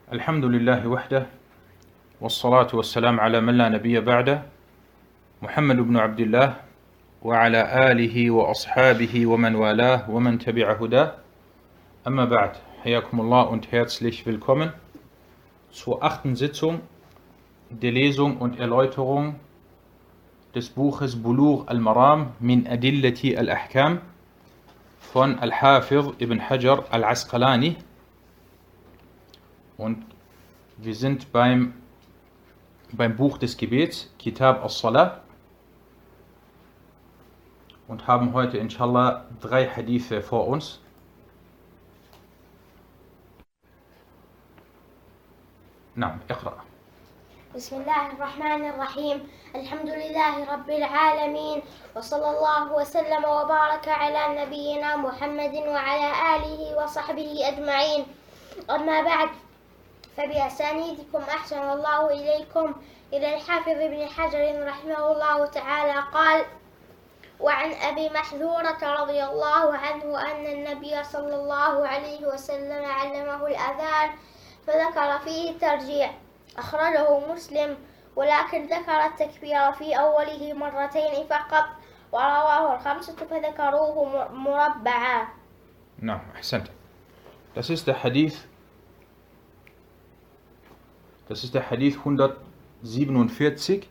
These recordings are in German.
الحمد لله وحده والصلاة والسلام على من لا نبي بعده محمد بن عبد الله وعلى آله وأصحابه ومن والاه ومن تبع هداه أما بعد حياكم الله und herzlich willkommen zur 8. Sitzung der Lesung und Erläuterung des Buches Bulugh al-Maram min Adillati al-Ahkam von Al-Hafiz ibn Hajar al-Asqalani. Und wir sind beim Buch des Gebets, Kitab as-Salah, und haben heute inshallah 3 Hadithe vor uns. نعم اقرأ. بسم الله الرحمن الرحيم. الحمد لله رب العالمين، وصلى الله وسلم وبارك على نبينا محمد وعلى آله وصحبه أجمعين. أما بعد، فبأسانيدكم أحسن الله إليكم إلى الحافظ ابن حجر رحمه الله تعالى قال: وعن أبي محذورة رضي الله عنه أن النبي صلى الله عليه وسلم علمه الأذان فذكر فيه الترجيع، أخرجه مسلم، ولكن ذكر التكبير في أوله مرتين فقط، ورواه الخمسة فذكروه مربعا. نعم أحسنت. Das ist der Hadith 147.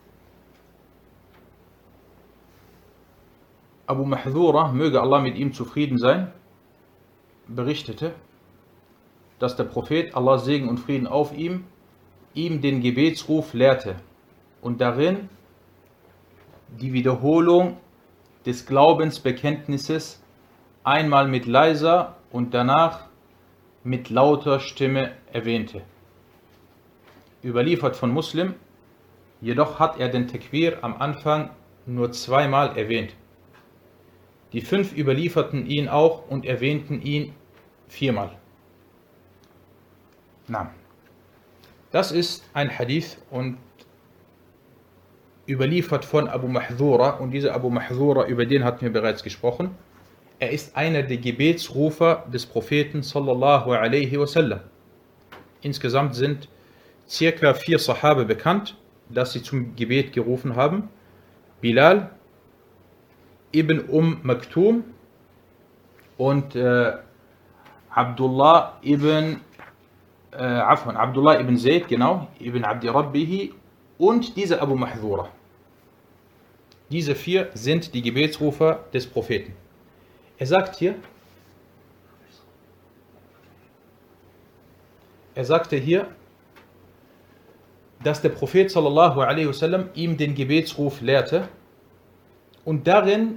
Abu Mahdhura, möge Allah mit ihm zufrieden sein, berichtete, dass der Prophet, Allah Segen und Frieden auf ihm den Gebetsruf lehrte und darin die Wiederholung des Glaubensbekenntnisses einmal mit leiser und danach mit lauter Stimme erwähnte. Überliefert von Muslim, jedoch hat er den Takbir am Anfang nur 2-mal erwähnt. Die 5 überlieferten ihn auch und erwähnten ihn 4-mal. Na, das ist ein Hadith und überliefert von Abu Mahdhura, und dieser Abu Mahdhura, über den hatten wir bereits gesprochen. Er ist einer der Gebetsrufer des Propheten sallallahu alaihi wasallam. Insgesamt sind circa 4 Sahabe bekannt, dass sie zum Gebet gerufen haben: Bilal, Ibn Maktum und Abdullah ibn Zayd, genau, Ibn Abdi Rabbihi und dieser Abu Mahdhura. Diese 4 sind die Gebetsrufer des Propheten. Er sagte hier, dass der Prophet sallallahu alaihi wasallam ihm den Gebetsruf lehrte und darin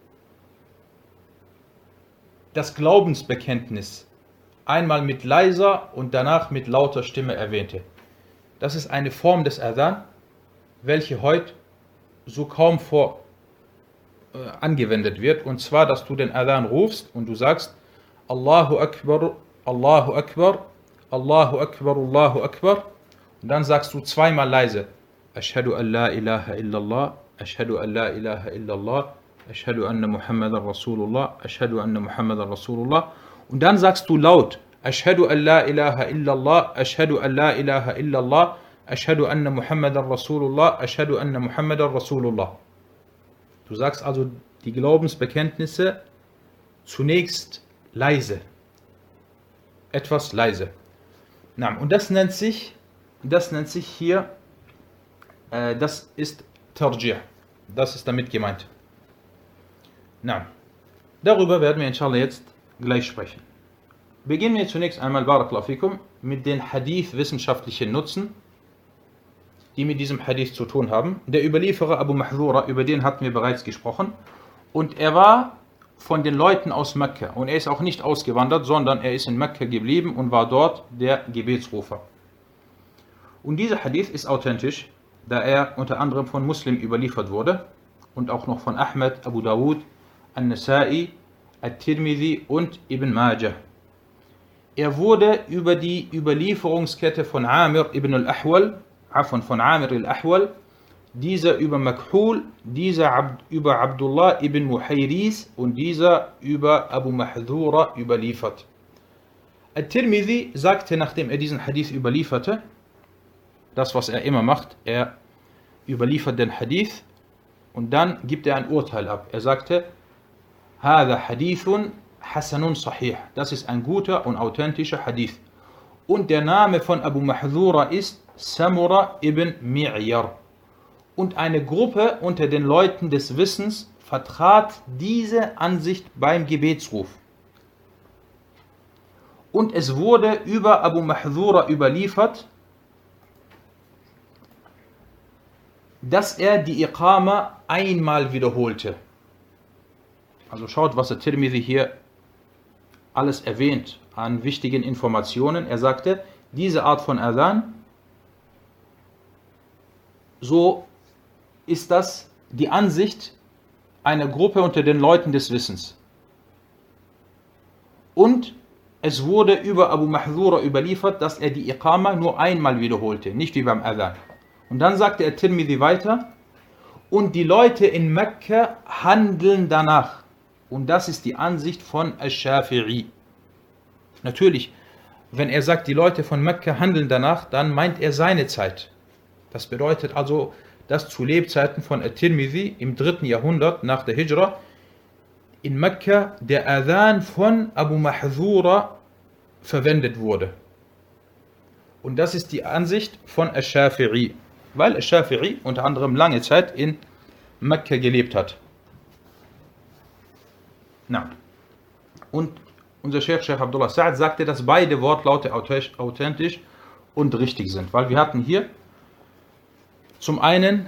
das Glaubensbekenntnis einmal mit leiser und danach mit lauter Stimme erwähnte. Das ist eine Form des Adhan, welche heute so kaum angewendet wird, und zwar, dass du den Adhan rufst und du sagst Allahu Akbar, Allahu Akbar, Allahu Akbar, Allahu Akbar, und dann sagst du 2-mal leise Ashhadu an la ilaha illallah, Ashhadu an la ilaha illallah, Ashhadu anna Muhammadan Rasulullah, Ashhadu anna Muhammadan Rasulullah, und dann sagst du laut Ashhadu an la ilaha illallah, Ashhadu an la ilaha illallah, Ashhadu anna Muhammadan Rasulullah, Ashhadu anna Muhammadan Rasulullah. Du sagst also die Glaubensbekenntnisse zunächst leise, etwas leise. Und das nennt sich hier, das ist Tarjih, das ist damit gemeint. Darüber werden wir inshallah jetzt gleich sprechen. Beginnen wir zunächst einmal, Barakallahu fikum, mit den Hadith-wissenschaftlichen Nutzen, die mit diesem Hadith zu tun haben. Der Überlieferer Abu Mahdhura, über den hatten wir bereits gesprochen, und er war von den Leuten aus Mekka, und er ist auch nicht ausgewandert, sondern er ist in Mekka geblieben und war dort der Gebetsrufer. Und dieser Hadith ist authentisch, da er unter anderem von Muslim überliefert wurde und auch noch von Ahmed, Abu Dawud, An-Nasa'i, At-Tirmidhi und Ibn Majah. Er wurde über die Überlieferungskette von Amir ibn al-Ahwal, dieser über Makhul, dieser über Abdullah ibn Muhayriz und dieser über Abu Mahdhura überliefert. At-Tirmidhi sagte, nachdem er diesen Hadith überlieferte, das, was er immer macht, er überliefert den Hadith und dann gibt er ein Urteil ab. Er sagte, هذا حديث حسن صحيح. Das ist ein guter und authentischer Hadith. Und der Name von Abu Mahdhura ist Samura ibn Mi'yar. Und eine Gruppe unter den Leuten des Wissens vertrat diese Ansicht beim Gebetsruf. Und es wurde über Abu Mahdhura überliefert, dass er die Iqama einmal wiederholte. Also schaut, was der Tirmidhi hier alles erwähnt an wichtigen Informationen. Er sagte, diese Art von Adhan, so ist das die Ansicht einer Gruppe unter den Leuten des Wissens. Und es wurde über Abu Mahdhura überliefert, dass er die Iqama nur einmal wiederholte, nicht wie beim Adhan. Und dann sagte er Tirmidhi weiter, und die Leute in Mekka handeln danach. Und das ist die Ansicht von Ash-Shafi'i. Natürlich, wenn er sagt, die Leute von Mekka handeln danach, dann meint er seine Zeit. Das bedeutet also, dass zu Lebzeiten von At-Tirmidhi im 3. Jahrhundert nach der Hijra in Mekka der Adhan von Abu Mahdhura verwendet wurde. Und das ist die Ansicht von Ash-Shafi'i, weil Ash-Shafi'i unter anderem lange Zeit in Mekka gelebt hat. Na. Und unser Sheikh Abdullah Sa'ad sagte, dass beide Wortlaute authentisch und richtig sind, weil wir hatten hier zum einen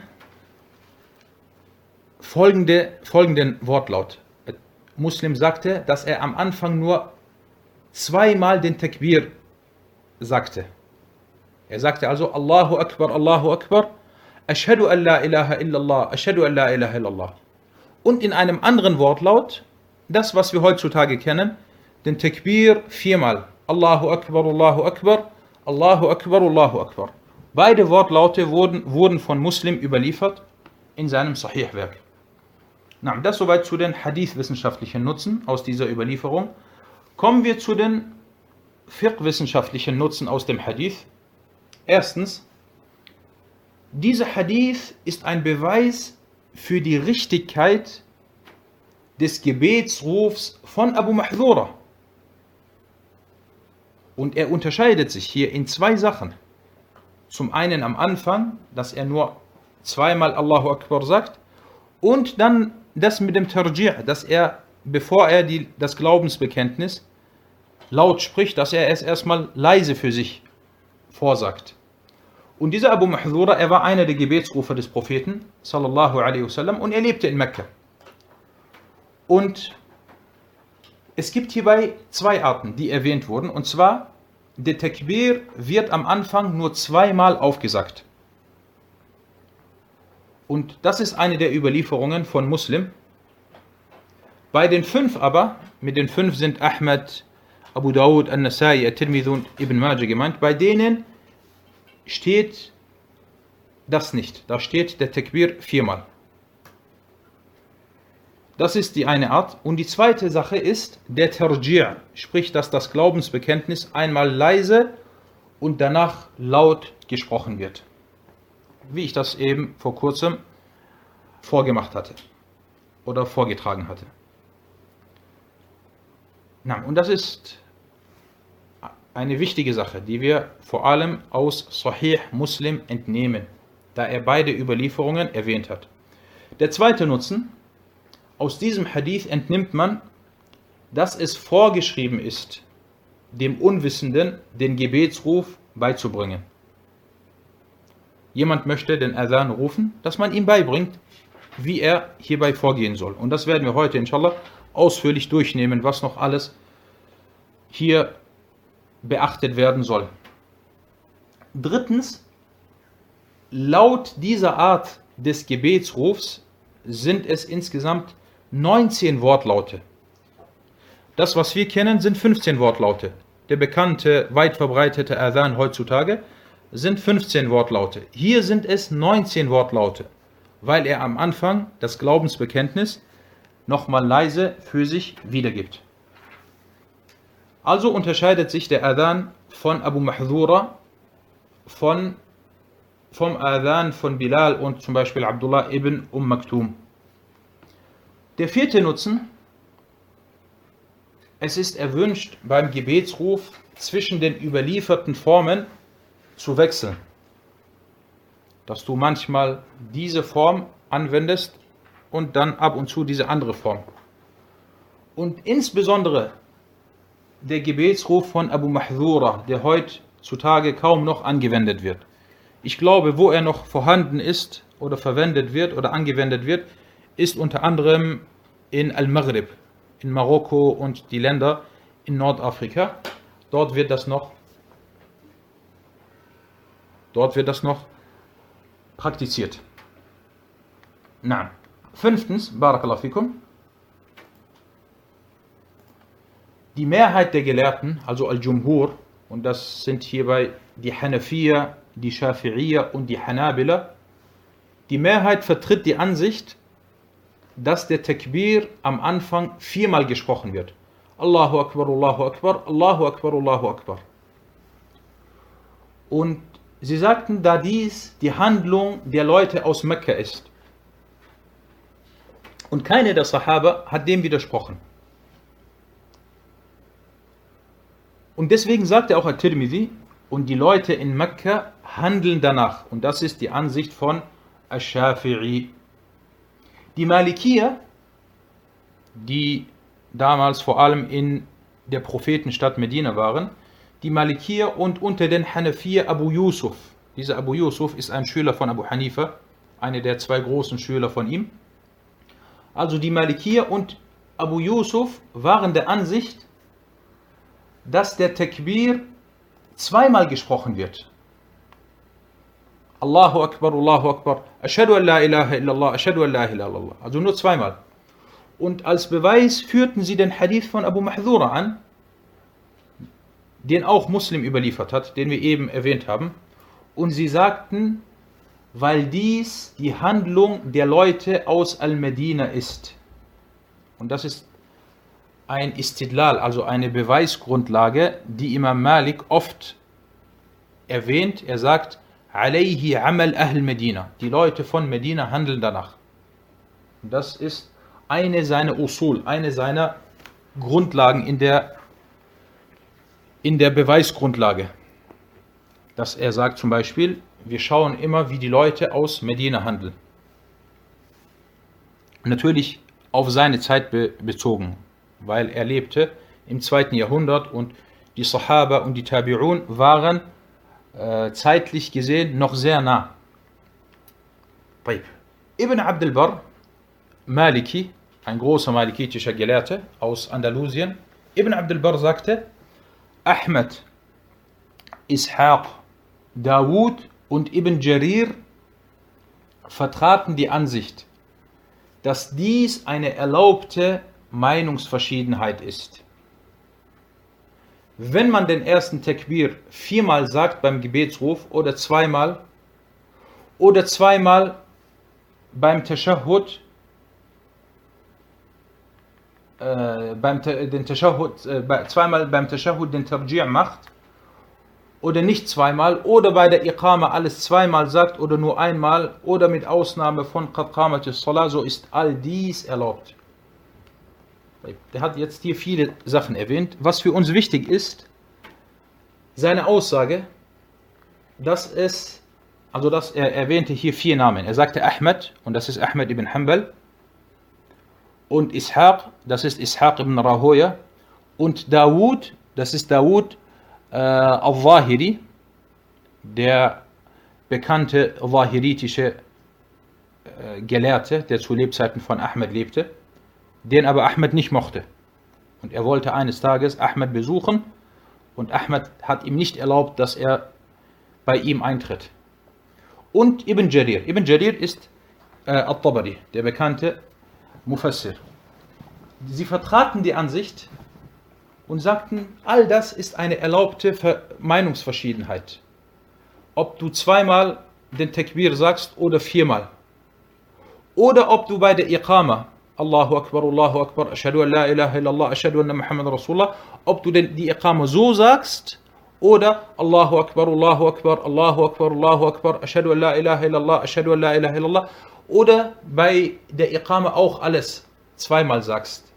folgenden Wortlaut. Muslim sagte, dass er am Anfang nur zweimal den Takbir sagte. Er sagte also Allahu Akbar, Ashhadu an la ilaha illallah, Ashhadu an la ilaha illallah. Und in einem anderen Wortlaut, das was wir heutzutage kennen, den Takbir viermal. Allahu Akbar, Allahu Akbar, Allahu Akbar, Allahu Akbar. Beide Wortlaute wurden von Muslim überliefert in seinem Sahih-Werk. Das soweit zu den Hadith-wissenschaftlichen Nutzen aus dieser Überlieferung. Kommen wir zu den Fiqh-wissenschaftlichen Nutzen aus dem Hadith. Erstens, dieser Hadith ist ein Beweis für die Richtigkeit des Gebetsrufs von Abu Mahdhura. Und er unterscheidet sich hier in zwei Sachen. Zum einen am Anfang, dass er nur zweimal Allahu Akbar sagt, und dann das mit dem Tarji', dass er, bevor er das Glaubensbekenntnis laut spricht, dass er es erstmal leise für sich vorsagt. Und dieser Abu Mahdhura, er war einer der Gebetsrufer des Propheten, sallallahu alaihi wasallam, und er lebte in Mekka. Und es gibt hierbei zwei Arten, die erwähnt wurden, und zwar, der Takbir wird am Anfang nur zweimal aufgesagt. Und das ist eine der Überlieferungen von Muslim. Bei den 5 aber, mit den 5 sind Ahmad, Abu Dawud, An-Nasai, At-Tirmidhi und Ibn Majah gemeint, bei denen steht das nicht. Da steht der Takbir viermal. Das ist die eine Art. Und die zweite Sache ist der Tarji', sprich, dass das Glaubensbekenntnis einmal leise und danach laut gesprochen wird. Wie ich das eben vor kurzem vorgemacht hatte oder vorgetragen hatte. Und das ist eine wichtige Sache, die wir vor allem aus Sahih Muslim entnehmen, da er beide Überlieferungen erwähnt hat. Der zweite Nutzen: Aus diesem Hadith entnimmt man, dass es vorgeschrieben ist, dem Unwissenden den Gebetsruf beizubringen. Jemand möchte den Adhan rufen, dass man ihm beibringt, wie er hierbei vorgehen soll. Und das werden wir heute inshallah ausführlich durchnehmen, was noch alles hier beachtet werden soll. Drittens, laut dieser Art des Gebetsrufs sind es insgesamt 19 Wortlaute. Das, was wir kennen, sind 15 Wortlaute. Der bekannte, weit verbreitete Adhan heutzutage sind 15 Wortlaute. Hier sind es 19 Wortlaute, weil er am Anfang das Glaubensbekenntnis nochmal leise für sich wiedergibt. Also unterscheidet sich der Adhan von Abu Mahdhura vom Adhan von Bilal und zum Beispiel Abdullah ibn Maktum. Der vierte Nutzen: Es ist erwünscht, beim Gebetsruf zwischen den überlieferten Formen zu wechseln. Dass du manchmal diese Form anwendest und dann ab und zu diese andere Form. Und insbesondere der Gebetsruf von Abu Mahdhura, der heutzutage kaum noch angewendet wird. Ich glaube, wo er noch vorhanden ist oder verwendet wird oder angewendet wird, ist unter anderem in Al-Maghrib, in Marokko und die Länder in Nordafrika. Dort wird das noch praktiziert. Na. Fünftens, Barakallahu fikum, die Mehrheit der Gelehrten, also Al-Jumhur, und das sind hierbei die Hanafiya, die Shafi'iyya und die Hanabila, die Mehrheit vertritt die Ansicht, dass der Takbir am Anfang 4-mal gesprochen wird. Allahu Akbar, Allahu Akbar, Allahu Akbar, Allahu Akbar. Und sie sagten, da dies die Handlung der Leute aus Mekka ist. Und keiner der Sahaba hat dem widersprochen. Und deswegen sagte auch At-Tirmidhi, und die Leute in Mekka handeln danach. Und das ist die Ansicht von Ash-Shafi'i. Die Malikiya, die damals vor allem in der Prophetenstadt Medina waren, die Malikiya und unter den Hanafiya Abu Yusuf. Dieser Abu Yusuf ist ein Schüler von Abu Hanifa, einer der 2 großen Schüler von ihm. Also die Malikiya und Abu Yusuf waren der Ansicht, dass der Takbir 2-mal gesprochen wird. Allahu Akbar, Allahu Akbar, Ashhadu an la ilaha illallah, Ashhadu an la ilaha illallah. Also nur 2-mal. Und als Beweis führten sie den Hadith von Abu Mahdhura an, den auch Muslim überliefert hat, den wir eben erwähnt haben. Und sie sagten, weil dies die Handlung der Leute aus Al-Medina ist. Und das ist ein Istidlal, also eine Beweisgrundlage, die Imam Malik oft erwähnt. Er sagt, alayhi amal ahl Medina. Die Leute von Medina handeln danach. Und das ist eine seiner Usul, eine seiner Grundlagen in der Beweisgrundlage. Dass er sagt zum Beispiel, wir schauen immer, wie die Leute aus Medina handeln. Natürlich auf seine Zeit bezogen, weil er lebte im 2. Jahrhundert und die Sahaba und die Tabi'un waren zeitlich gesehen noch sehr nah. Ibn Abd al-Barr, Maliki, ein großer malikitischer Gelehrter aus Andalusien, Ibn Abd al-Barr sagte, Ahmed, Ishaq, Dawud und Ibn Jarir vertraten die Ansicht, dass dies eine erlaubte Meinungsverschiedenheit ist. Wenn man den ersten Takbir 4-mal sagt beim Gebetsruf oder 2-mal beim Tashahhud, zweimal beim Tashahhud den Tarji' macht oder nicht 2-mal oder bei der Iqama alles 2-mal sagt oder nur 1-mal oder mit Ausnahme von Qad Qamatis Salah, so ist all dies erlaubt. Der hat jetzt hier viele Sachen erwähnt. Was für uns wichtig ist, seine Aussage, dass er erwähnte hier 4 Namen. Er sagte Ahmed, und das ist Ahmed ibn Hanbal, und Ishaq, das ist Ishaq ibn Rahoya, und Dawud, das ist Dawud al-Zahiri, der bekannte zahiritische Gelehrte, der zu Lebzeiten von Ahmed lebte, den aber Ahmed nicht mochte. Und er wollte eines Tages Ahmed besuchen und Ahmed hat ihm nicht erlaubt, dass er bei ihm eintritt. Und Ibn Jarir. Ibn Jarir ist At-Tabari, der bekannte Mufassir. Sie vertraten die Ansicht und sagten, all das ist eine erlaubte Meinungsverschiedenheit. Ob du 2-mal den Takbir sagst oder 4-mal. Oder ob du bei der Iqama Allahu Akbar, Ashhadu an la ilaha illallah, Ashhadu anna Muhammad Rasulullah, ob du denn die Iqama so sagst oder Allahu Akbar, Allahu Akbar, Allahu Akbar, Allahu Akbar, Ashhadu an la ilaha illallah, Ashhadu an la ilaha illallah, oder bei der Iqama auch alles zweimal sagst.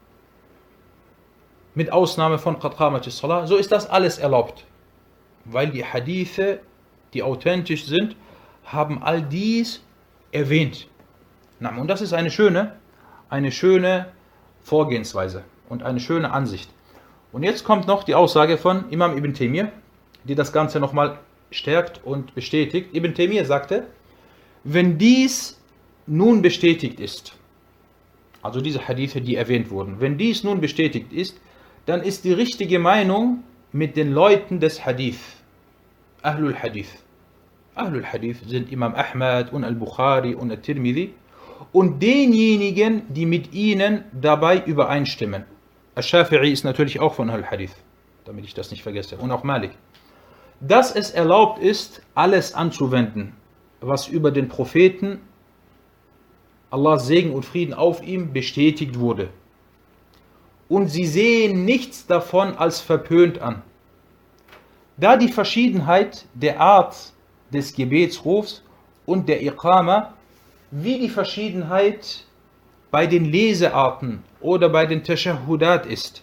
Mit Ausnahme von Qad qamatis Salah, so ist das alles erlaubt. Weil die Hadithe, die authentisch sind, haben all dies erwähnt. Und das ist eine schöne Vorgehensweise und eine schöne Ansicht. Und jetzt kommt noch die Aussage von Imam Ibn Taymiyyah, die das Ganze nochmal stärkt und bestätigt. Ibn Taymiyyah sagte, wenn dies nun bestätigt ist, also diese Hadithe, die erwähnt wurden, wenn dies nun bestätigt ist, dann ist die richtige Meinung mit den Leuten des Hadith, Ahlul Hadith. Ahlul Hadith sind Imam Ahmad und Al-Bukhari und Al-Tirmidhi und denjenigen, die mit ihnen dabei übereinstimmen. Al-Shafi'i ist natürlich auch von Ahlul Hadith, damit ich das nicht vergesse, und auch Malik. Dass es erlaubt ist, alles anzuwenden, was über den Propheten, Allahs Segen und Frieden auf ihm, bestätigt wurde. Und sie sehen nichts davon als verpönt an. Da die Verschiedenheit der Art des Gebetsrufs und der Iqama wie die Verschiedenheit bei den Lesearten oder bei den Tashahudat ist.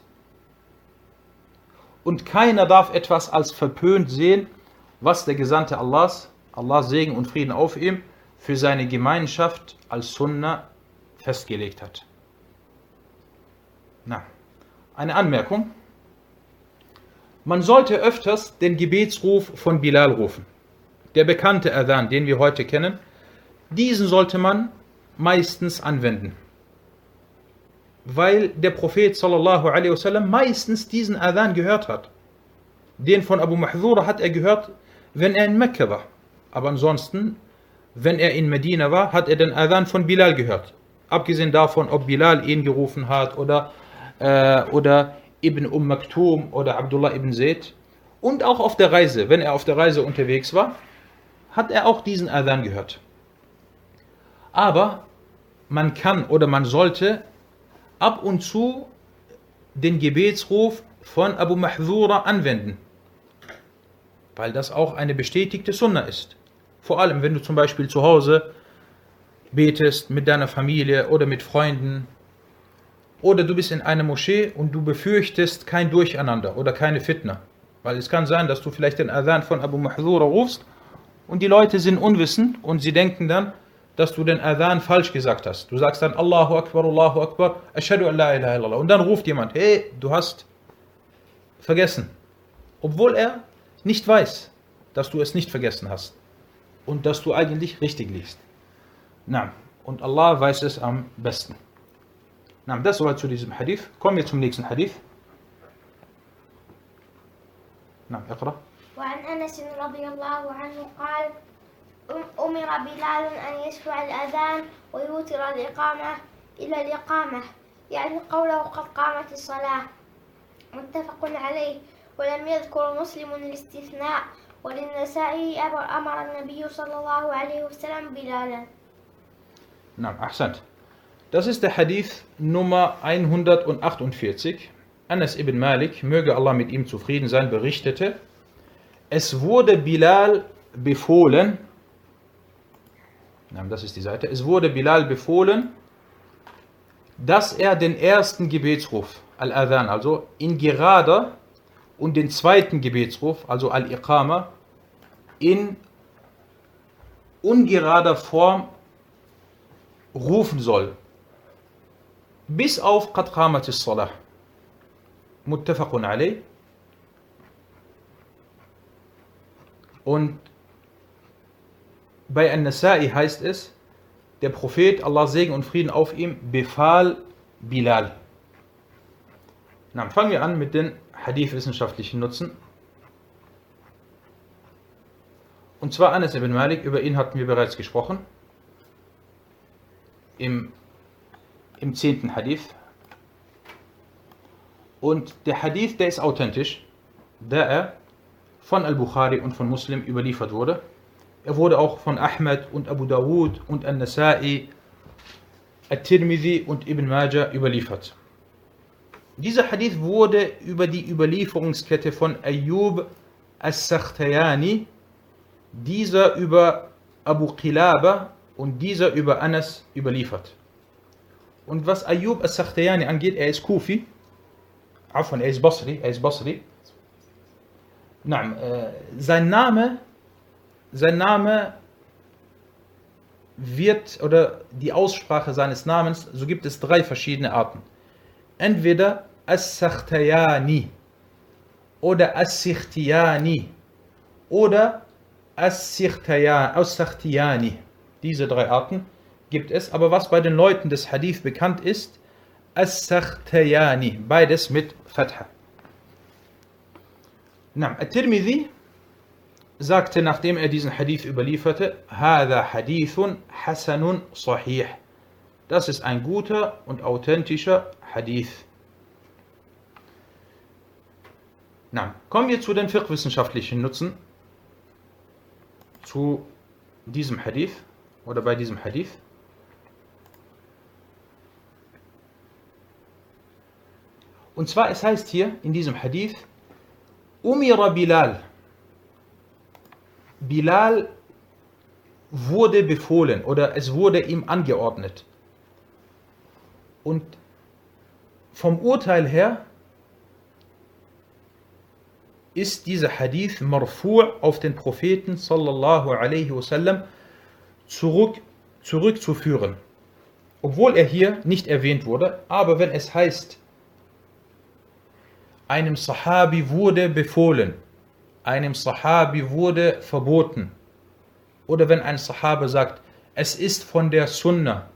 Und keiner darf etwas als verpönt sehen, was der Gesandte Allahs Segen und Frieden auf ihm, für seine Gemeinschaft als Sunnah festgelegt hat. Eine Anmerkung. Man sollte öfters den Gebetsruf von Bilal rufen. Der bekannte Adhan, den wir heute kennen, diesen sollte man meistens anwenden. Weil der Prophet sallallahu alaihi wasallam meistens diesen Adhan gehört hat. Den von Abu Mahdhura hat er gehört, wenn er in Mekka war. Aber ansonsten, wenn er in Medina war, hat er den Adhan von Bilal gehört. Abgesehen davon, ob Bilal ihn gerufen hat oder Ibn Maktum oder Abdullah ibn Zayd. Und auch auf der Reise, wenn er auf der Reise unterwegs war, hat er auch diesen Adhan gehört. Aber man kann oder man sollte ab und zu den Gebetsruf von Abu Mahdhura anwenden, weil das auch eine bestätigte Sunna ist. Vor allem, wenn du zum Beispiel zu Hause betest mit deiner Familie oder mit Freunden oder du bist in einer Moschee und du befürchtest kein Durcheinander oder keine Fitna. Weil es kann sein, dass du vielleicht den Adhan von Abu Mahdhura rufst und die Leute sind unwissend und sie denken dann, dass du den Adhan falsch gesagt hast. Du sagst dann Allahu Akbar, Ashhadu an la ilaha illallah. Und dann ruft jemand, hey, du hast vergessen. Obwohl er nicht weiß, dass du es nicht vergessen hast. Und dass du eigentlich richtig liegst. Und Allah weiß es am besten. Das soweit zu diesem Hadith. Kommen wir zum nächsten Hadith. اقرأ. وعن أنس رضي الله عنه قال أمر بلال أن يشفع الأذان ويوتر الإقامة إلى الإقامة، يعني قوله قد قامت الصلاة، متفق عليه. ولم يذكر مسلم الاستثناء. وللنسائي أمر النبي صلى الله عليه وسلم بلالا. أحسنت. Das ist der Hadith Nummer 148. Anas ibn Malik, möge Allah mit ihm zufrieden sein, berichtete, es wurde Bilal befohlen, das ist die Seite, es wurde Bilal befohlen, dass er den ersten Gebetsruf, Al-Adhan, also in gerader, und den zweiten Gebetsruf, also Al-Iqama, in ungerader Form rufen soll. Bis auf Qad qamatis Salah. Muttafaqun alayh. Und bei An-Nasa'i heißt es, der Prophet, Allah Segen und Frieden auf ihm, befahl Bilal. Fangen wir an mit den Hadith-wissenschaftlichen Nutzen. Und zwar Anas ibn Malik, über ihn hatten wir bereits gesprochen. Im 10. Hadith. Und der Hadith, der ist authentisch, da er von Al-Bukhari und von Muslim überliefert wurde. Er wurde auch von Ahmad und Abu Dawud und An-Nasa'i, At-Tirmidhi und Ibn Majah überliefert. Dieser Hadith wurde über die Überlieferungskette von Ayyub as-Sakhtiyani, dieser über Abu Qilaba und dieser über Anas überliefert. Und was Ayyub as-Sakhtiyani angeht, er ist Kufi, er ist Basri. Sein Name wird, oder die Aussprache seines Namens, so gibt es 3 verschiedene Arten. Entweder As-Sakhtiyani oder As-Sikhtiyani oder As-Sakhtiyani. Diese 3 Arten gibt es, aber was bei den Leuten des Hadith bekannt ist, As-Sakhtiyani, beides mit Fatha. At-Tirmidhi sagte, nachdem er diesen Hadith überlieferte, Hada Hadithun Hasanun Sahih. Das ist ein guter und authentischer Hadith. Kommen wir zu den fiqh-wissenschaftlichen Nutzen zu diesem Hadith oder bei diesem Hadith. Und zwar, es heißt hier in diesem Hadith, Umira Bilal. Bilal wurde befohlen oder es wurde ihm angeordnet. Und vom Urteil her ist dieser Hadith marfu' auf den Propheten sallallahu alaihi wasallam zurückzuführen. Obwohl er hier nicht erwähnt wurde, aber wenn es heißt, einem Sahabi wurde befohlen, einem Sahabi wurde verboten, oder wenn ein Sahabe sagt, es ist von der Sunna,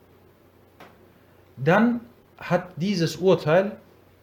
dann hat dieses Urteil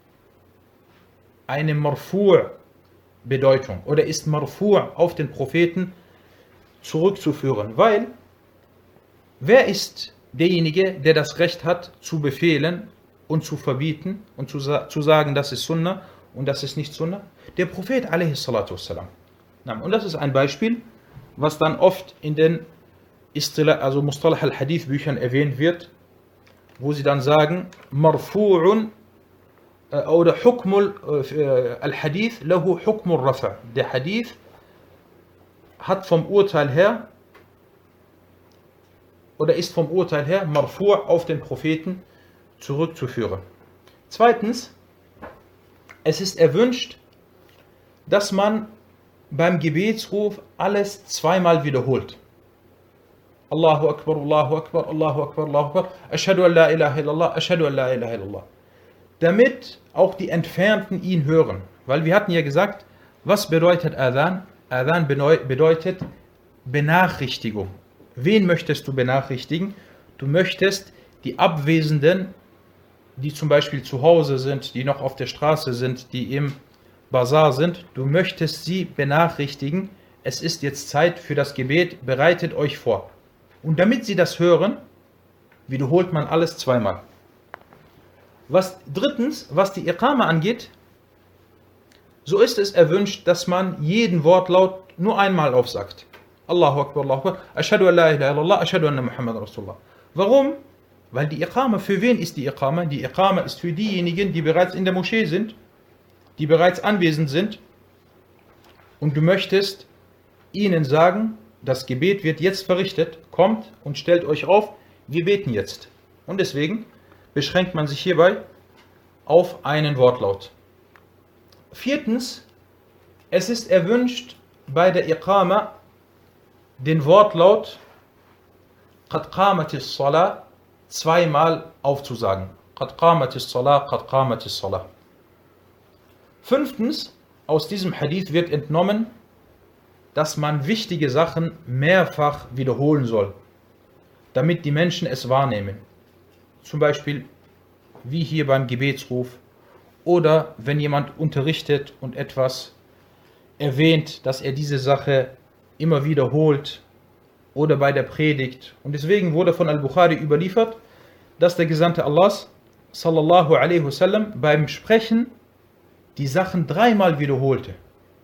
eine Marfu' Bedeutung oder ist Marfu' auf den Propheten zurückzuführen, weil wer ist derjenige, der das Recht hat zu befehlen und zu verbieten und zu sagen, das ist Sunna und das ist nicht Sunna? Der Prophet a.s. Und das ist ein Beispiel, was dann oft in den Mustalah al-Hadith Büchern erwähnt wird, wo sie dann sagen, Marfu'un oder Hukmul al-Hadith lahu Hukmul Rafa'. Der Hadith hat vom Urteil her oder ist vom Urteil her Marfu' auf den Propheten zurückzuführen. Zweitens, es ist erwünscht, dass man beim Gebetsruf alles 2-mal wiederholt. Allahu Akbar, Allahu Akbar, Allahu Akbar, Allahu Akbar, Ashhadu an la ilaha illallah, Ashhadu an la ilaha illallah. Damit auch die Entfernten ihn hören. Weil wir hatten ja gesagt, was bedeutet Adhan? Adhan bedeutet Benachrichtigung. Wen möchtest du benachrichtigen? Du möchtest die Abwesenden, die zum Beispiel zu Hause sind, die noch auf der Straße sind, die im Bazar sind, du möchtest sie benachrichtigen, es ist jetzt Zeit für das Gebet, bereitet euch vor. Und damit sie das hören, wiederholt man alles 2-mal. Drittens, was die Iqama angeht, so ist es erwünscht, dass man jeden Wortlaut nur einmal aufsagt. Allahu Akbar, Allahu Akbar, Ashhadu an la ilaha illallah, Ashhadu anna Muhammad Rasulullah. Warum? Weil die Iqama, für wen ist die Iqama? Die Iqama ist für diejenigen, die bereits in der Moschee sind, die bereits anwesend sind, und du möchtest ihnen sagen, das Gebet wird jetzt verrichtet, kommt und stellt euch auf, wir beten jetzt. Und deswegen beschränkt man sich hierbei auf einen Wortlaut. Viertens, es ist erwünscht, bei der Iqama den Wortlaut Qad qamatis Salah 2-mal aufzusagen. Qad qamatis Salah, Qad qamatis Salah. Fünftens, aus diesem Hadith wird entnommen, dass man wichtige Sachen mehrfach wiederholen soll, damit die Menschen es wahrnehmen. Zum Beispiel wie hier beim Gebetsruf oder wenn jemand unterrichtet und etwas erwähnt, dass er diese Sache immer wiederholt oder bei der Predigt. Und deswegen wurde von Al-Bukhari überliefert, dass der Gesandte Allahs sallallahu alaihi wasallam beim Sprechen die Sachen 3-mal wiederholte.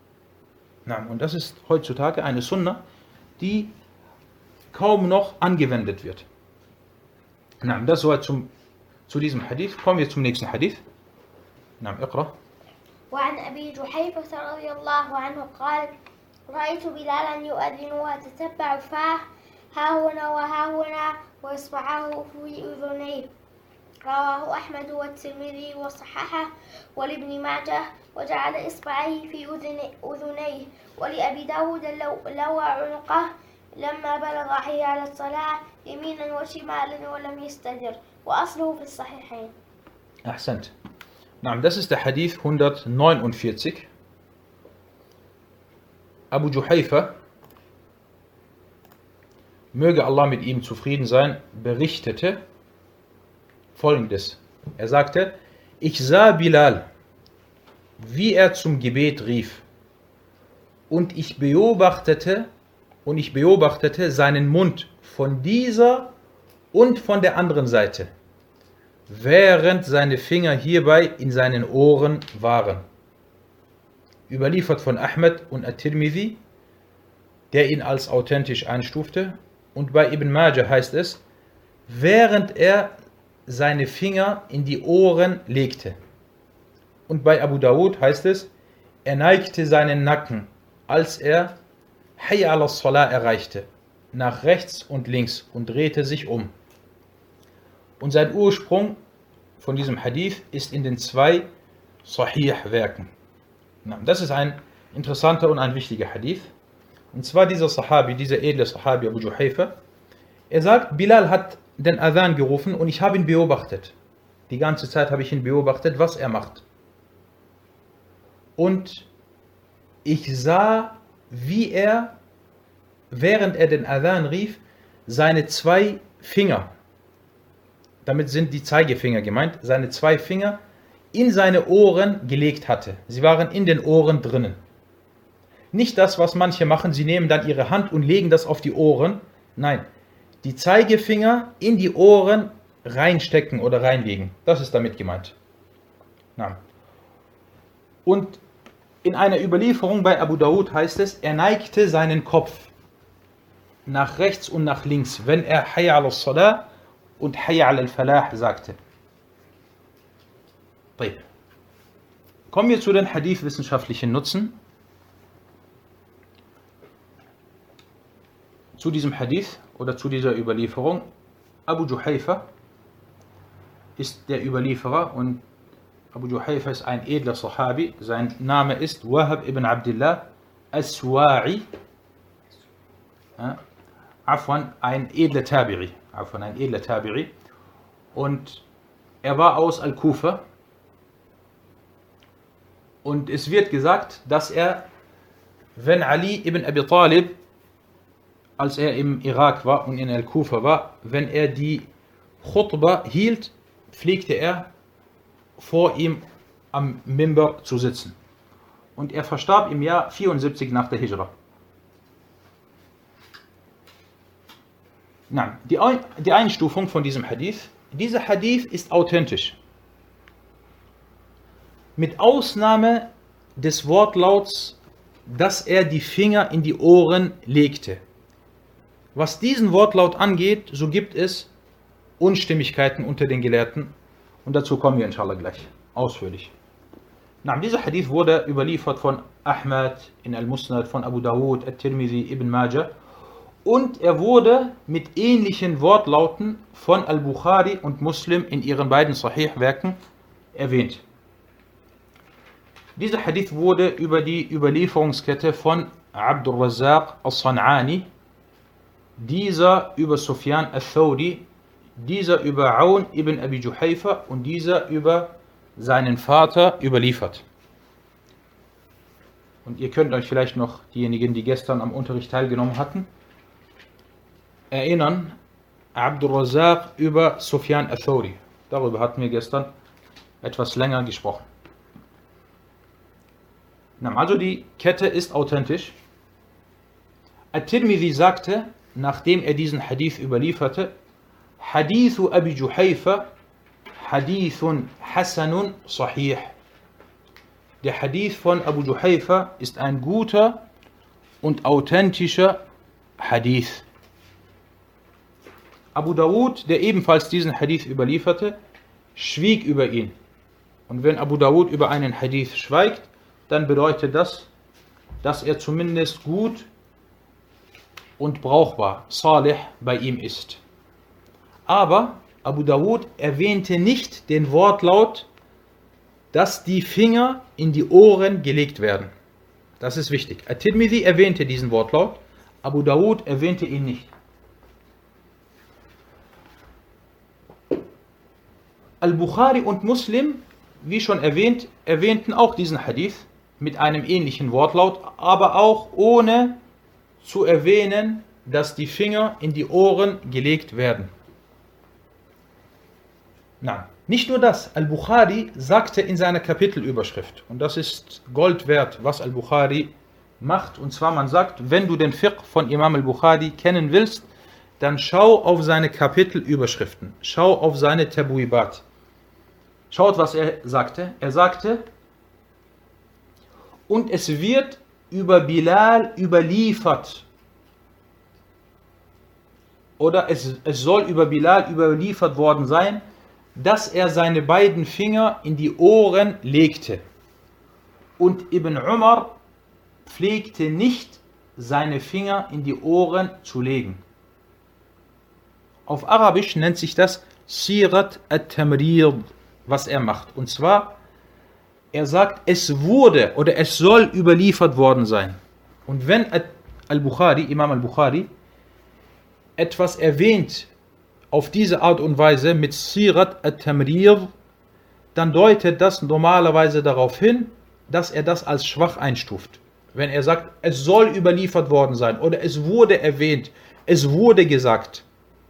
Und das ist heutzutage eine Sunna, die kaum noch angewendet wird. نعم, das soweit zu diesem Hadith. Kommen wir zum nächsten Hadith. نعم, اقرأ. وعن أبي جحيفة رضي الله عنه قال رأيت بلالا يؤذن وتتبع فاه ها هنا وها هنا وإصبعه في أذنيه. رواه أحمد والترمذي وصححه ولابن ماجه وجعل إصبعيه في أذنيه. ولأبي داود لوى عنقه لما بلغ حي على الصلاة يمينا وشمالا ولم يستدر وأصله في الصحيحين. أحسنت. نعم, das ist der Hadith 149. Abu Juhayfa, möge Allah mit ihm zufrieden sein, berichtete Folgendes. Er sagte, ich sah Bilal, wie er zum Gebet rief, und ich beobachtete seinen Mund von dieser und von der anderen Seite, während seine Finger hierbei in seinen Ohren waren. Überliefert von Ahmed und At-Tirmidhi, der ihn als authentisch einstufte, und bei Ibn Majah heißt es, während er seine Finger in die Ohren legte. Und bei Abu Dawud heißt es, er neigte seinen Nacken, als er Hayya ala Salah erreichte, nach rechts und links und drehte sich um. Und sein Ursprung von diesem Hadith ist in den 2 Sahih-Werken. Das ist ein interessanter und ein wichtiger Hadith. Und zwar dieser Sahabi, dieser edle Sahabi Abu Juhayfa, er sagt, Bilal hat den Adhan gerufen und ich habe ihn beobachtet. Die ganze Zeit habe ich ihn beobachtet, was er macht. Und ich sah, wie er, während er den Adhan rief, seine 2 Finger, damit sind die Zeigefinger gemeint, seine 2 Finger in seine Ohren gelegt hatte. Sie waren in den Ohren drinnen. Nicht das, was manche machen, sie nehmen dann ihre Hand und legen das auf die Ohren. Nein, die Zeigefinger in die Ohren reinstecken oder reinlegen. Das ist damit gemeint. Na. Und in einer Überlieferung bei Abu Dawud heißt es, er neigte seinen Kopf nach rechts und nach links, wenn er Hayya ala Salah und Hayya ala al-Falah sagte. Kommen wir zu den Hadith-wissenschaftlichen Nutzen. Zu diesem Hadith oder zu dieser Überlieferung. Abu Juhayfa ist der Überlieferer und Abu Juhayfa ist ein edler Sahabi. Sein Name ist Wahab ibn Abdullah As-Suwa'i. Ein edler Tabi'i. Und er war aus Al-Kufa. Und es wird gesagt, dass er, wenn Ali ibn Abi Talib, als er im Irak war und in Al-Kufa war, wenn er die Khutbah hielt, pflegte er vor ihm am Mimbar zu sitzen. Und er verstarb im Jahr 74 nach der Hijra. Nein, die Einstufung von diesem Hadith. Dieser Hadith ist authentisch. Mit Ausnahme des Wortlauts, dass er die Finger in die Ohren legte. Was diesen Wortlaut angeht, so gibt es Unstimmigkeiten unter den Gelehrten. Und dazu kommen wir inshallah gleich ausführlich. Dieser Hadith wurde überliefert von Ahmad in Al-Musnad, von Abu Dawud, At-Tirmidhi, Ibn Majah. Und er wurde mit ähnlichen Wortlauten von Al-Bukhari und Muslim in ihren beiden Sahih-Werken erwähnt. Dieser Hadith wurde über die Überlieferungskette von Abdur Razzaq al-San'ani, dieser über Sufyan al-Thawri, dieser über Aun ibn Abi Juhayfa und dieser über seinen Vater überliefert. Und ihr könnt euch vielleicht noch, diejenigen, die gestern am Unterricht teilgenommen hatten, erinnern, Abdur Razzaq über Sufyan al-Thawri. Darüber hatten wir gestern etwas länger gesprochen. Also die Kette ist authentisch. At-Tirmidhi sagte, nachdem er diesen Hadith überlieferte, Hadithu Abi Juhayfa Hadithun Hasanun Sahih. Der Hadith von Abu Juhayfa ist ein guter und authentischer Hadith. Abu Dawud, der ebenfalls diesen Hadith überlieferte, schwieg über ihn. Und wenn Abu Dawud über einen Hadith schweigt, dann bedeutet das, dass er zumindest gut und brauchbar, salih, bei ihm ist. Aber Abu Dawud erwähnte nicht den Wortlaut, dass die Finger in die Ohren gelegt werden. Das ist wichtig. At-Tirmidhi erwähnte diesen Wortlaut, Abu Dawud erwähnte ihn nicht. Al-Bukhari und Muslim, wie schon erwähnt, erwähnten auch diesen Hadith mit einem ähnlichen Wortlaut, aber auch ohne zu erwähnen, dass die Finger in die Ohren gelegt werden. Nein, nicht nur das. Al-Bukhari sagte in seiner Kapitelüberschrift, und das ist Gold wert, was Al-Bukhari macht, und zwar man sagt, wenn du den Fiqh von Imam Al-Bukhari kennen willst, dann schau auf seine Kapitelüberschriften, schau auf seine Tabuibat. Schaut, was er sagte. Er sagte, und es wird über Bilal überliefert, oder es soll über Bilal überliefert worden sein, dass er seine beiden Finger in die Ohren legte. Und Ibn Umar pflegte nicht, seine Finger in die Ohren zu legen. Auf Arabisch nennt sich das Sirat at-Tamrir, was er macht. Und zwar, er sagt, es wurde oder es soll überliefert worden sein. Und wenn Al-Bukhari, Imam Al-Bukhari, etwas erwähnt auf diese Art und Weise mit Sirat at-Tamrir, dann deutet das normalerweise darauf hin, dass er das als schwach einstuft. Wenn er sagt, es soll überliefert worden sein oder es wurde erwähnt, es wurde gesagt.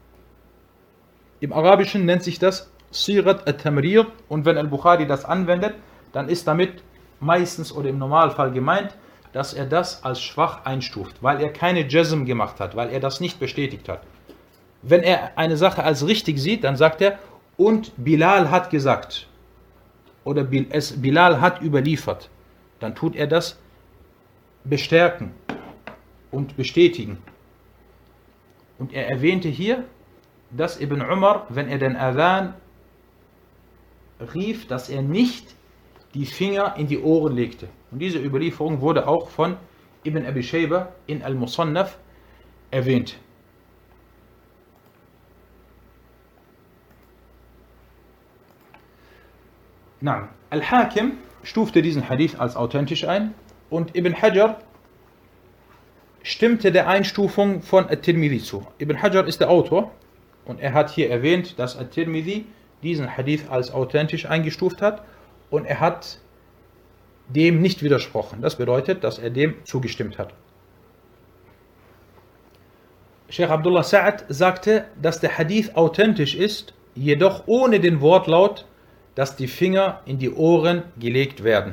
Im Arabischen nennt sich das Sirat at-Tamrir, und wenn Al-Bukhari das anwendet, dann ist damit meistens oder im Normalfall gemeint, dass er das als schwach einstuft, weil er keine Jazm gemacht hat, weil er das nicht bestätigt hat. Wenn er eine Sache als richtig sieht, dann sagt er, und Bilal hat gesagt, oder Bilal hat überliefert, dann tut er das bestärken und bestätigen. Und er erwähnte hier, dass Ibn Umar, wenn er den Adhan rief, dass er nicht die Finger in die Ohren legte. Und diese Überlieferung wurde auch von Ibn Abi Shayba in Al-Musannaf erwähnt. Al-Hakim stufte diesen Hadith als authentisch ein und Ibn Hajar stimmte der Einstufung von At-Tirmidhi zu. Ibn Hajar ist der Autor und er hat hier erwähnt, dass At-Tirmidhi diesen Hadith als authentisch eingestuft hat und er hat dem nicht widersprochen. Das bedeutet, dass er dem zugestimmt hat. Sheikh Abdullah Sa'ad sagte, dass der Hadith authentisch ist, jedoch ohne den Wortlaut, dass die Finger in die Ohren gelegt werden.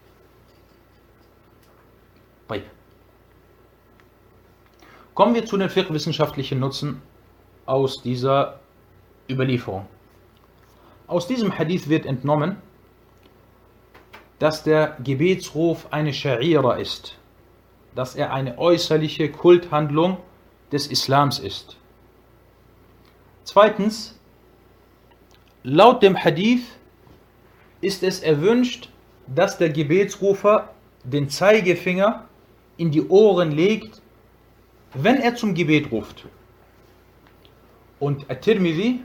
Kommen wir zu den fiqh-wissenschaftlichen Nutzen aus dieser Überlieferung. Aus diesem Hadith wird entnommen, dass der Gebetsruf eine Scha'ira ist, dass er eine äußerliche Kulthandlung des Islams ist. Zweitens, laut dem Hadith ist es erwünscht, dass der Gebetsrufer den Zeigefinger in die Ohren legt, wenn er zum Gebet ruft. Und At-Tirmidhi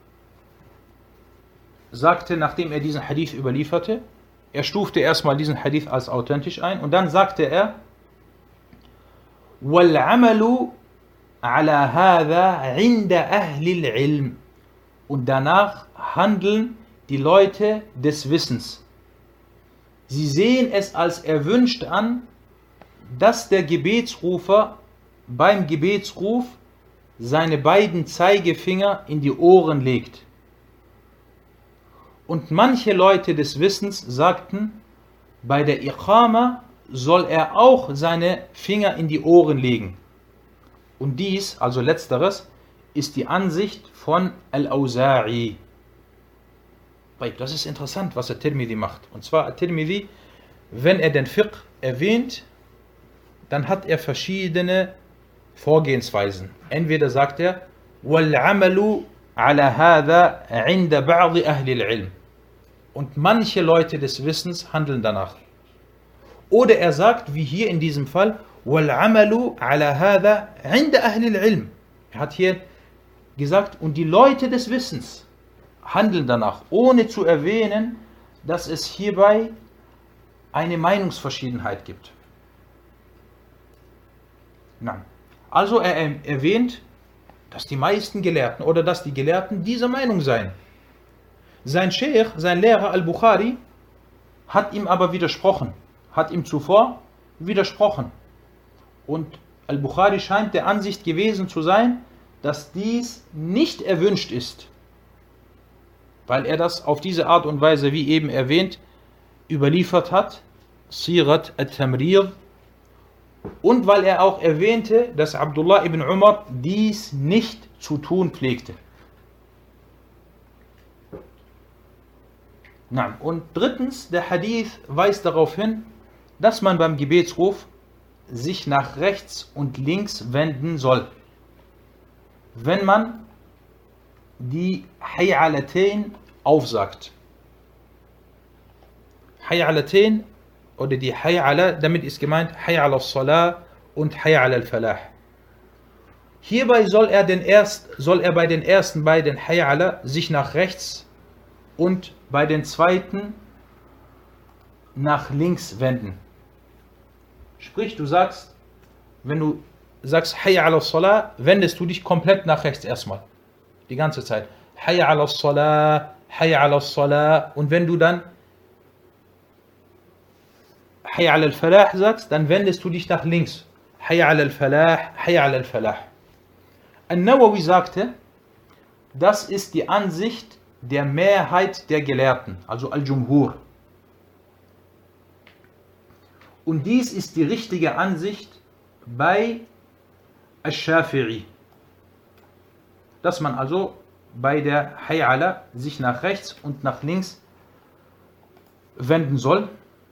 sagte, nachdem er diesen Hadith überlieferte, er stufte erstmal diesen Hadith als authentisch ein und dann sagte er, وَالْعَمَلُ عَلَى هَذَا عِنْدَ أَهْلِ الْعِلْمِ. Und danach handeln die Leute des Wissens. Sie sehen es als erwünscht an, dass der Gebetsrufer beim Gebetsruf seine beiden Zeigefinger in die Ohren legt. Und manche Leute des Wissens sagten, bei der Iqama soll er auch seine Finger in die Ohren legen. Und dies, also letzteres, ist die Ansicht von Al-Awza'i. Das ist interessant, was At-Tirmidhi macht. Und zwar At-Tirmidhi, wenn er den Fiqh erwähnt, dann hat er verschiedene Vorgehensweisen. Entweder sagt er, وَالْعَمَلُ عَلَى هَذَا عِنْدَ بَعْضِ أَهْلِ الْعِلْمِ. Und manche Leute des Wissens handeln danach. Oder er sagt, wie hier in diesem Fall, وَالْعَمَلُ عَلَى هَذَا عِنْدَ أَهْلِ الْعِلْمِ. Er hat hier gesagt, und die Leute des Wissens handeln danach, ohne zu erwähnen, dass es hierbei eine Meinungsverschiedenheit gibt. Nein. Also er erwähnt, dass die meisten Gelehrten oder dass die Gelehrten dieser Meinung seien. Sein Sheikh, sein Lehrer Al-Bukhari, hat ihm aber widersprochen, hat ihm zuvor widersprochen. Und Al-Bukhari scheint der Ansicht gewesen zu sein, dass dies nicht erwünscht ist, weil er das auf diese Art und Weise, wie eben erwähnt, überliefert hat, Sirat al-Tamrir, und weil er auch erwähnte, dass Abdullah ibn Umar dies nicht zu tun pflegte. Und drittens, der Hadith weist darauf hin, dass man beim Gebetsruf sich nach rechts und links wenden soll. Wenn man die Hay'alatain aufsagt. Hay'alatain oder die Hay'ala, damit ist gemeint Hay'ala al-Salah und Hay'ala al-Falah. Hierbei soll er bei den ersten beiden Hay'ala sich nach rechts und bei den zweiten nach links wenden. Sprich, wenn du sagst Hay'ala al-Salah, wendest du dich komplett nach rechts erstmal. Die ganze Zeit. Hay'ala al-Salah, Hay'ala al-Salah. Und wenn du dann Hay'ala al-Falah sagst, dann wendest du dich nach links. Hay'ala al-Falah, Hay'ala al-Falah. An-Nawawi sagte, das ist die Ansicht der Mehrheit der Gelehrten, also Al-Jumhur. Und dies ist die richtige Ansicht bei Al-Shafi'i, dass man also bei der Hay'ala sich nach rechts und nach links wenden soll.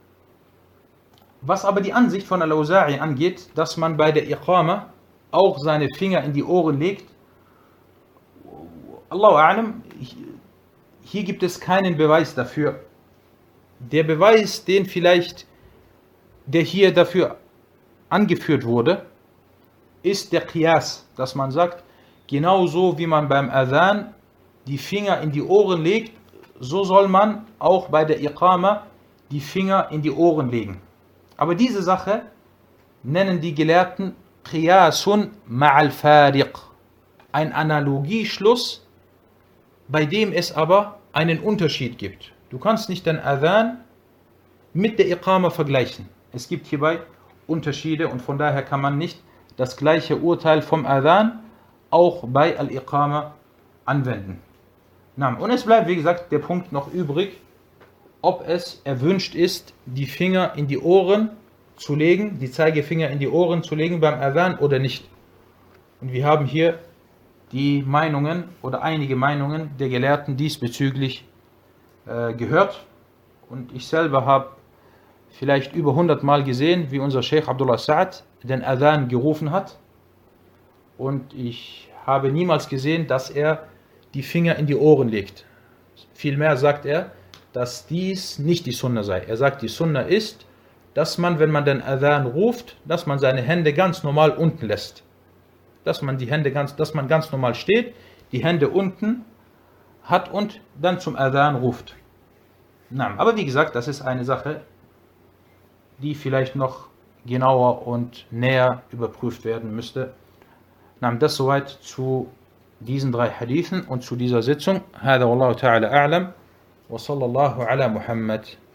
Was aber die Ansicht von Al-Auza'i angeht, dass man bei der Iqama auch seine Finger in die Ohren legt, Allahu A'lam, hier gibt es keinen Beweis dafür. Der Beweis, der hier dafür angeführt wurde, ist der Qiyas, dass man sagt, genauso wie man beim Adhan die Finger in die Ohren legt, so soll man auch bei der Iqama die Finger in die Ohren legen. Aber diese Sache nennen die Gelehrten Qiyasun ma'al Fariq, ein Analogieschluss, bei dem es aber einen Unterschied gibt. Du kannst nicht den Adhan mit der Iqama vergleichen. Es gibt hierbei Unterschiede und von daher kann man nicht das gleiche Urteil vom Adhan auch bei Al-Iqama anwenden. Und es bleibt, wie gesagt, der Punkt noch übrig, ob es erwünscht ist, die Finger in die Ohren zu legen, die Zeigefinger in die Ohren zu legen beim Adhan oder nicht. Und wir haben hier die Meinungen oder einige Meinungen der Gelehrten diesbezüglich gehört. Und ich selber habe vielleicht über 100 Mal gesehen, wie unser Sheikh Abdullah Sa'ad den Adhan gerufen hat. Und ich habe niemals gesehen, dass er die Finger in die Ohren legt. Vielmehr sagt er, dass dies nicht die Sunna sei. Er sagt, die Sunna ist, dass man, wenn man den Adhan ruft, dass man seine Hände ganz normal unten lässt. Dass man ganz normal steht, die Hände unten hat und dann zum Adhan ruft. Aber wie gesagt, das ist eine Sache, die vielleicht noch genauer und näher überprüft werden müsste. Das soweit zu diesen 3 Hadithen und zu dieser Sitzung. هذا والله تعالى أعلم وصلى الله على محمد.